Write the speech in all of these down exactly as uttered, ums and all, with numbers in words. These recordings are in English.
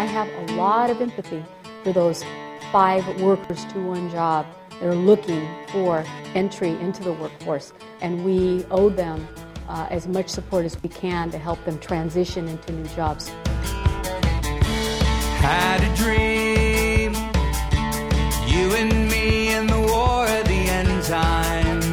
I have a lot of empathy for those five workers to one job that are looking for entry into the workforce. And we owe them uh, as much support as we can to help them transition into new jobs. Had a dream, you and me in the war of the end times.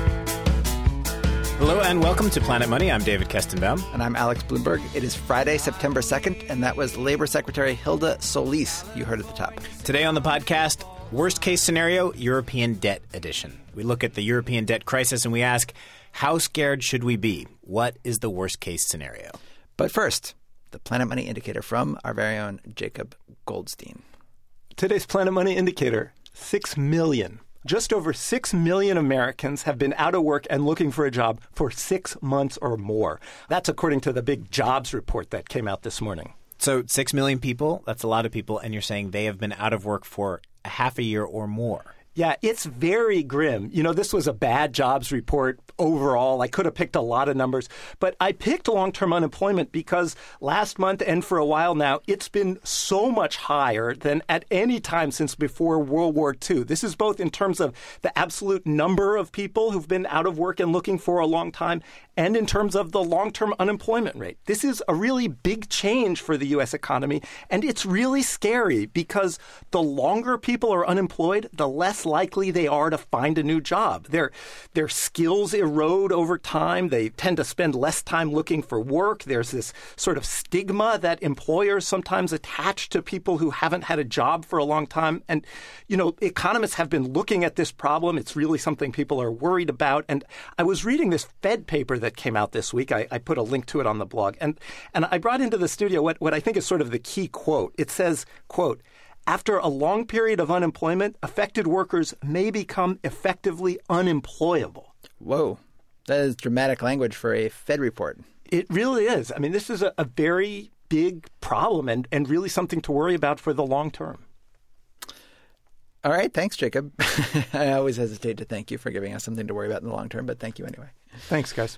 Hello and welcome to Planet Money. I'm David Kestenbaum. And I'm Alex Bloomberg. It is Friday, September second, and that was Labor Secretary Hilda Solis you heard at the top. Today on the podcast, worst case scenario, European debt edition. We look at the European debt crisis and we ask, how scared should we be? What is the worst case scenario? But first, the Planet Money Indicator from our very own Jacob Goldstein. Today's Planet Money Indicator, six million. Just over six million Americans have been out of work and looking for a job for six months or more. That's according to the big jobs report that came out this morning. So six million people, that's a lot of people, and you're saying they have been out of work for a half a year or more. Yeah, it's very grim. You know, this was a bad jobs report overall. I could have picked a lot of numbers, but I picked long-term unemployment because last month and for a while now, it's been so much higher than at any time since before World War Two. This is both in terms of the absolute number of people who've been out of work and looking for a long time and in terms of the long-term unemployment rate. This is a really big change for the U S economy, and it's really scary because the longer people are unemployed, the less likely they are to find a new job. Their, their skills erode over time. They tend to spend less time looking for work. There's this sort of stigma that employers sometimes attach to people who haven't had a job for a long time. And, you know, economists have been looking at this problem. It's really something people are worried about. And I was reading this Fed paper that came out this week. I, I put a link to it on the blog. And, and I brought into the studio what, what I think is sort of the key quote. It says, quote, "After a long period of unemployment, affected workers may become effectively unemployable." Whoa. That is dramatic language for a Fed report. It really is. I mean, this is a, a very big problem and, and really something to worry about for the long term. All right. Thanks, Jacob. I always hesitate to thank you for giving us something to worry about in the long term, but thank you anyway. Thanks, guys.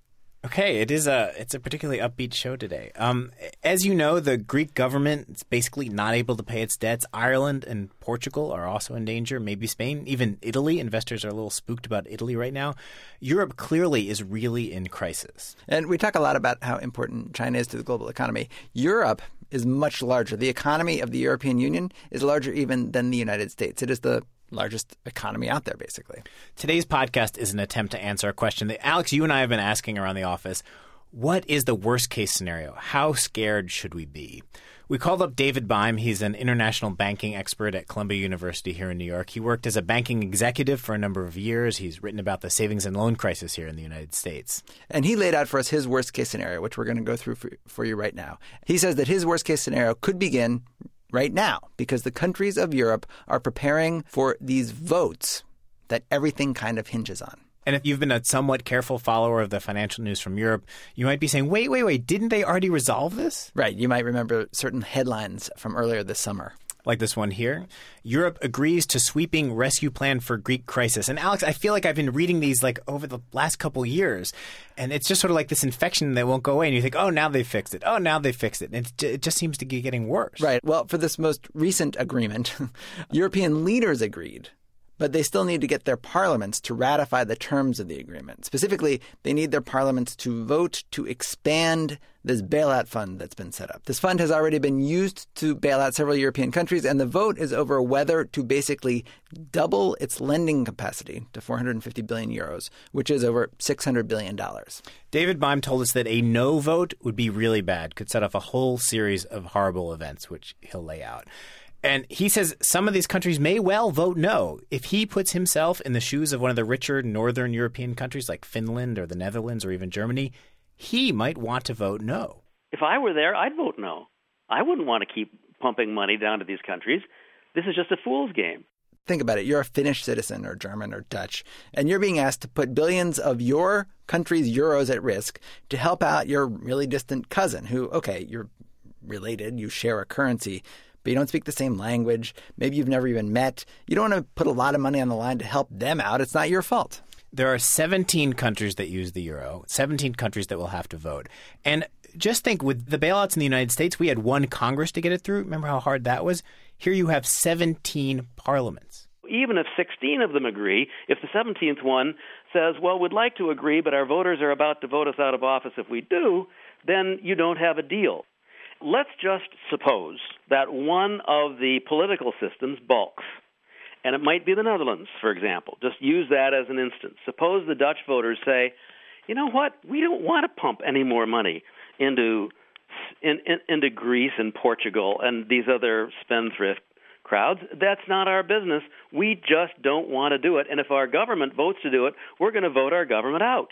Okay, it is a it's a particularly upbeat show today. Um, as you know, the Greek government is basically not able to pay its debts. Ireland and Portugal are also in danger, maybe Spain, even Italy. Investors are a little spooked about Italy right now. Europe clearly is really in crisis. And we talk a lot about how important China is to the global economy. Europe is much larger. The economy of the European Union is larger even than the United States. It is the largest economy out there, basically. Today's podcast is an attempt to answer a question that, Alex, you and I have been asking around the office. What is the worst-case scenario? How scared should we be? We called up David Baim. He's an international banking expert at Columbia University here in New York. He worked as a banking executive for a number of years. He's written about the savings and loan crisis here in the United States. And he laid out for us his worst-case scenario, which we're going to go through for, for you right now. He says that his worst-case scenario could begin right now, because the countries of Europe are preparing for these votes that everything kind of hinges on. And if you've been a somewhat careful follower of the financial news from Europe, you might be saying, wait, wait, wait, didn't they already resolve this? Right. You might remember certain headlines from earlier this summer. Like this one here. Europe agrees to sweeping rescue plan for Greek crisis. And Alex, I feel like I've been reading these like over the last couple years. And it's just sort of like this infection that won't go away. And you think, oh, now they fixed it. Oh, now they fixed it. And it just seems to be getting worse. Right. Well, for this most recent agreement, European leaders agreed. But they still need to get their parliaments to ratify the terms of the agreement. Specifically, they need their parliaments to vote to expand this bailout fund that's been set up. This fund has already been used to bail out several European countries, and the vote is over whether to basically double its lending capacity to four hundred fifty billion euros, which is over six hundred billion dollars. David Baim told us that a no vote would be really bad, could set off a whole series of horrible events, which he'll lay out. And he says some of these countries may well vote no. If he puts himself in the shoes of one of the richer northern European countries like Finland or the Netherlands or even Germany, he might want to vote no. If I were there, I'd vote no. I wouldn't want to keep pumping money down to these countries. This is just a fool's game. Think about it. You're a Finnish citizen or German or Dutch, and you're being asked to put billions of your country's euros at risk to help out your really distant cousin who, okay, you're related, you share a currency, but you don't speak the same language. Maybe you've never even met. You don't want to put a lot of money on the line to help them out. It's not your fault. There are seventeen countries that use the euro, seventeen countries that will have to vote. And just think, with the bailouts in the United States, we had one Congress to get it through. Remember how hard that was? Here you have seventeen parliaments. Even if sixteen of them agree, if the seventeenth one says, well, we'd like to agree, but our voters are about to vote us out of office if we do, then you don't have a deal. Let's just suppose that one of the political systems balks, and it might be the Netherlands, for example. Just use that as an instance. Suppose the Dutch voters say, you know what, we don't want to pump any more money into in, in, into Greece and Portugal and these other spendthrift crowds. That's not our business. We just don't want to do it. And if our government votes to do it, we're going to vote our government out.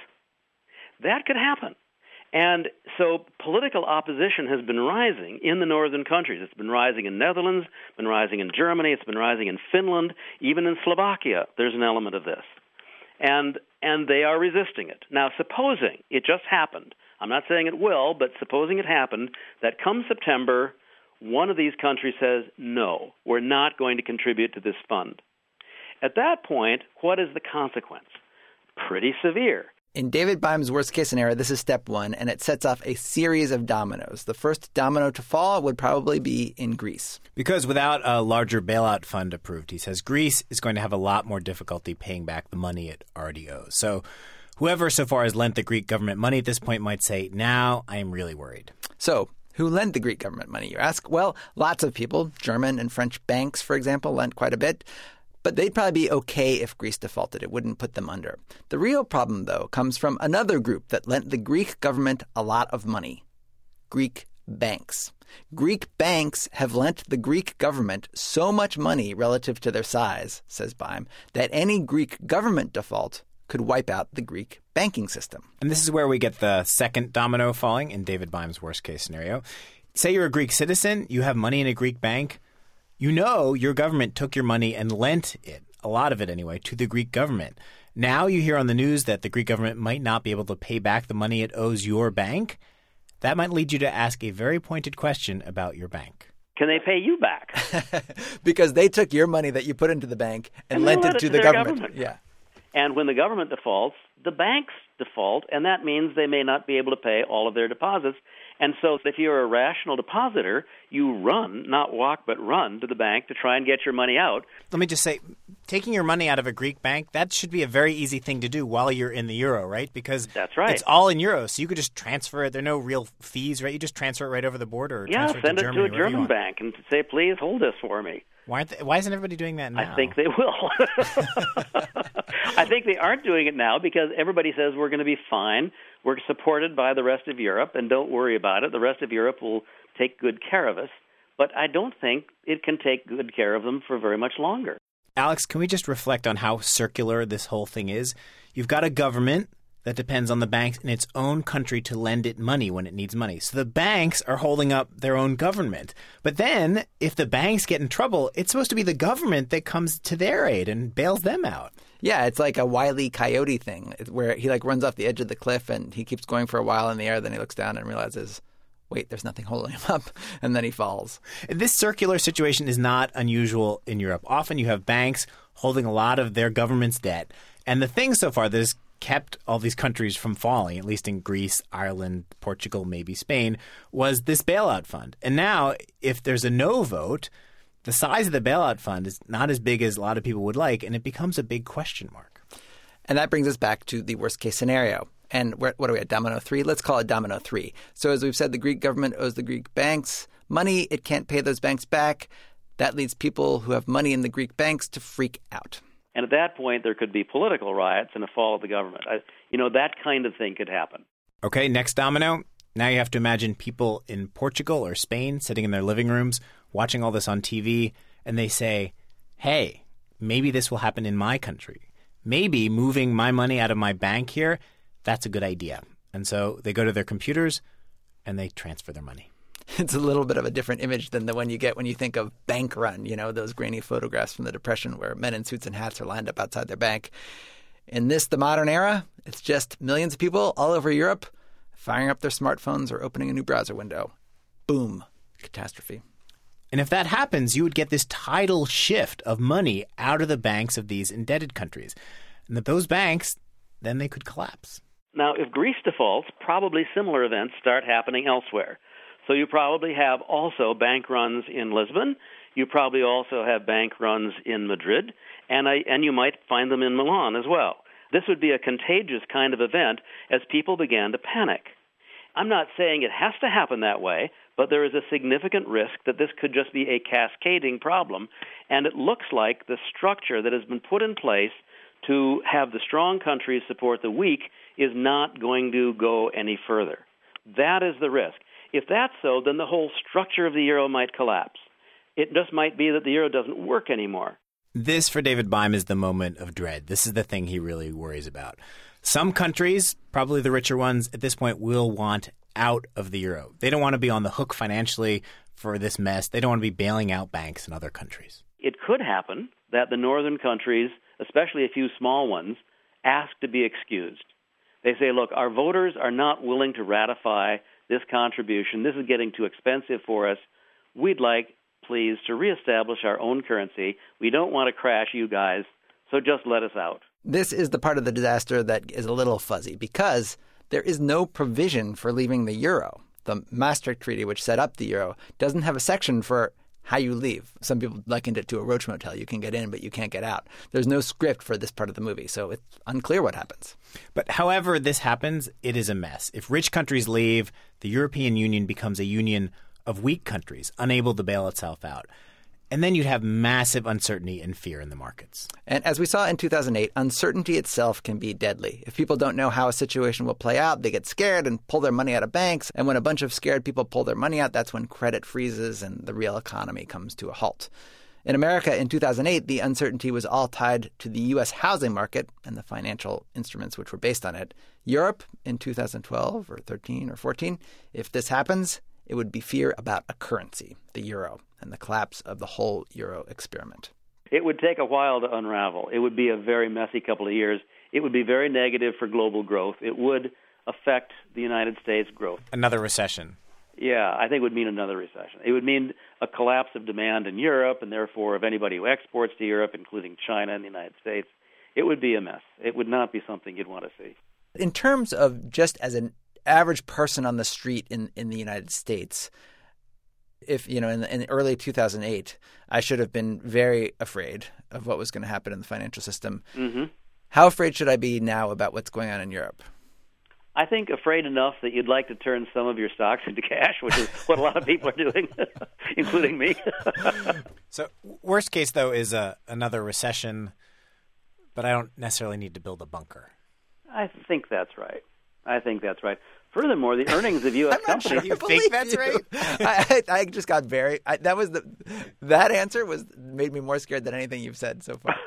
That could happen. And so political opposition has been rising in the northern countries. It's been rising in Netherlands, been rising in Germany, it's been rising in Finland, even in Slovakia. There's an element of this. And and they are resisting it. Now, supposing it just happened, I'm not saying it will, but supposing it happened, that come September, one of these countries says, no, we're not going to contribute to this fund. At that point, what is the consequence? Pretty severe. In David Bime's worst-case scenario, this is step one, and it sets off a series of dominoes. The first domino to fall would probably be in Greece. Because without a larger bailout fund approved, he says Greece is going to have a lot more difficulty paying back the money it already owes. So whoever so far has lent the Greek government money at this point might say, now I am really worried. So who lent the Greek government money, you ask? Well, lots of people. German and French banks, for example, lent quite a bit. But they'd probably be okay if Greece defaulted. It wouldn't put them under. The real problem, though, comes from another group that lent the Greek government a lot of money. Greek banks. Greek banks have lent the Greek government so much money relative to their size, says Bime, that any Greek government default could wipe out the Greek banking system. And this is where we get the second domino falling in David Bime's worst-case scenario. Say you're a Greek citizen, you have money in a Greek bank. You know your government took your money and lent it, a lot of it anyway, to the Greek government. Now you hear on the news that the Greek government might not be able to pay back the money it owes your bank. That might lead you to ask a very pointed question about your bank. Can they pay you back? Because they took your money that you put into the bank and, and lent it it to to the government. government. Yeah. And when the government defaults, the banks default, and that means they may not be able to pay all of their deposits. And so if you're a rational depositor, you run, not walk, but run to the bank to try and get your money out. Let me just say, taking your money out of a Greek bank, that should be a very easy thing to do while you're in the euro, right? Because that's right. It's all in euros, so you could just transfer it. There are no real fees, right? You just transfer it right over the border. Or yeah, transfer send it to, it Germany, to a German bank and say, please hold this for me. Why, aren't they, why isn't everybody doing that now? I think they will. I think they aren't doing it now because everybody says we're going to be fine. We're supported by the rest of Europe, and don't worry about it. The rest of Europe will take good care of us. But I don't think it can take good care of them for very much longer. Alex, can we just reflect on how circular this whole thing is? You've got a government that depends on the banks in its own country to lend it money when it needs money. So the banks are holding up their own government. But then if the banks get in trouble, it's supposed to be the government that comes to their aid and bails them out. Yeah, it's like a Wile E. Coyote thing where he like runs off the edge of the cliff and he keeps going for a while in the air. Then he looks down and realizes, wait, there's nothing holding him up. And then he falls. This circular situation is not unusual in Europe. Often you have banks holding a lot of their government's debt. And the thing so far that has kept all these countries from falling, at least in Greece, Ireland, Portugal, maybe Spain, was this bailout fund. And now if there's a no vote, the size of the bailout fund is not as big as a lot of people would like, and it becomes a big question mark. And that brings us back to the worst-case scenario. And we're, what are we at, domino three? Let's call it domino three. So as we've said, the Greek government owes the Greek banks money. It can't pay those banks back. That leads people who have money in the Greek banks to freak out. And at that point, there could be political riots and a fall of the government. I, you know, that kind of thing could happen. Okay, next domino. Now you have to imagine people in Portugal or Spain sitting in their living rooms watching all this on T V, and they say, hey, maybe this will happen in my country. Maybe moving my money out of my bank here, that's a good idea. And so they go to their computers and they transfer their money. It's a little bit of a different image than the one you get when you think of bank run, you know, those grainy photographs from the Depression where men in suits and hats are lined up outside their bank. In this, the modern era, it's just millions of people all over Europe firing up their smartphones or opening a new browser window. Boom. Catastrophe. And if that happens, you would get this tidal shift of money out of the banks of these indebted countries. And that those banks, then they could collapse. Now, if Greece defaults, probably similar events start happening elsewhere. So you probably have also bank runs in Lisbon. You probably also have bank runs in Madrid, and I, and you might find them in Milan as well. This would be a contagious kind of event as people began to panic. I'm not saying it has to happen that way, but there is a significant risk that this could just be a cascading problem, and it looks like the structure that has been put in place to have the strong countries support the weak is not going to go any further. That is the risk. If that's so, then the whole structure of the euro might collapse. It just might be that the euro doesn't work anymore. This, for David Beim, is the moment of dread. This is the thing he really worries about. Some countries, probably the richer ones, at this point will want out of the euro. They don't want to be on the hook financially for this mess. They don't want to be bailing out banks in other countries. It could happen that the northern countries, especially a few small ones, ask to be excused. They say, look, our voters are not willing to ratify this contribution. This is getting too expensive for us. We'd like, please, to reestablish our own currency. We don't want to crash you guys, so just let us out. This is the part of the disaster that is a little fuzzy because there is no provision for leaving the euro. The Maastricht Treaty, which set up the euro, doesn't have a section for how you leave. Some people likened it to a roach motel. You can get in, but you can't get out. There's no script for this part of the movie, so it's unclear what happens. But however this happens, it is a mess. If rich countries leave, the European Union becomes a union of weak countries, unable to bail itself out. And then you'd have massive uncertainty and fear in the markets. And as we saw in two thousand eight, uncertainty itself can be deadly. If people don't know how a situation will play out, they get scared and pull their money out of banks. And when a bunch of scared people pull their money out, that's when credit freezes and the real economy comes to a halt. In America in two thousand eight, the uncertainty was all tied to the U S housing market and the financial instruments which were based on it. Europe in two thousand twelve or thirteen or fourteen, if this happens, it would be fear about a currency, the euro, and the collapse of the whole euro experiment. It would take a while to unravel. It would be a very messy couple of years. It would be very negative for global growth. It would affect the United States' growth. Another recession. Yeah, I think it would mean another recession. It would mean a collapse of demand in Europe, and therefore of anybody who exports to Europe, including China and the United States. It would be a mess. It would not be something you'd want to see. In terms of just as an average person on the street in, in the United States, if, you know, in, in early two thousand eight, I should have been very afraid of what was going to happen in the financial system. Mm-hmm. How afraid should I be now about what's going on in Europe? I think afraid enough that you'd like to turn some of your stocks into cash, which is what a lot of people are doing, including me. So worst case, though, is a, another recession, but I don't necessarily need to build a bunker. I think that's right. I think that's right. Furthermore, the earnings of U S I'm not companies. sure you think that's you. right? I, I, I just got very. I, that was the. That answer was made me more scared than anything you've said so far.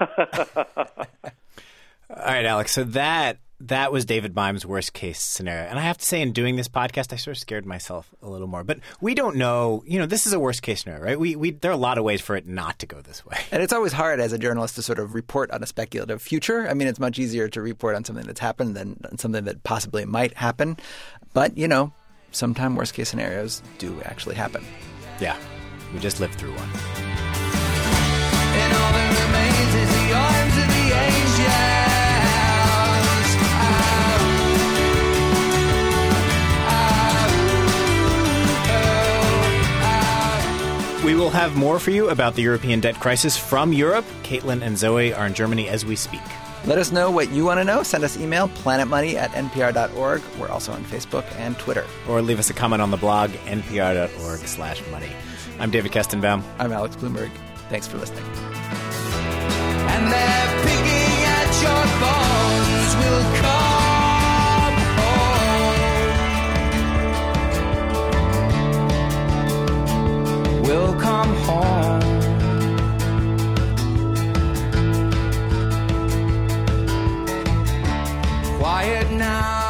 All right, Alex. So that that was David Beim's worst case scenario, and I have to say, in doing this podcast, I sort of scared myself a little more. But we don't know. You know, this is a worst case scenario, right? We we there are a lot of ways for it not to go this way. And it's always hard as a journalist to sort of report on a speculative future. I mean, it's much easier to report on something that's happened than on something that possibly might happen. But you know, sometimes worst case scenarios do actually happen. Yeah, we just lived through one. And all that remains is the arms of the angels. We will have more for you about the European debt crisis from Europe. Caitlin and Zoe are in Germany as we speak. Let us know what you want to know. Send us email, planetmoney at n p r dot org. We're also on Facebook and Twitter. Or leave us a comment on the blog, n p r dot org slash money. I'm David Kestenbaum. I'm Alex Bloomberg. Thanks for listening. And they're picking at your bones will come home. Will come home. Quiet now.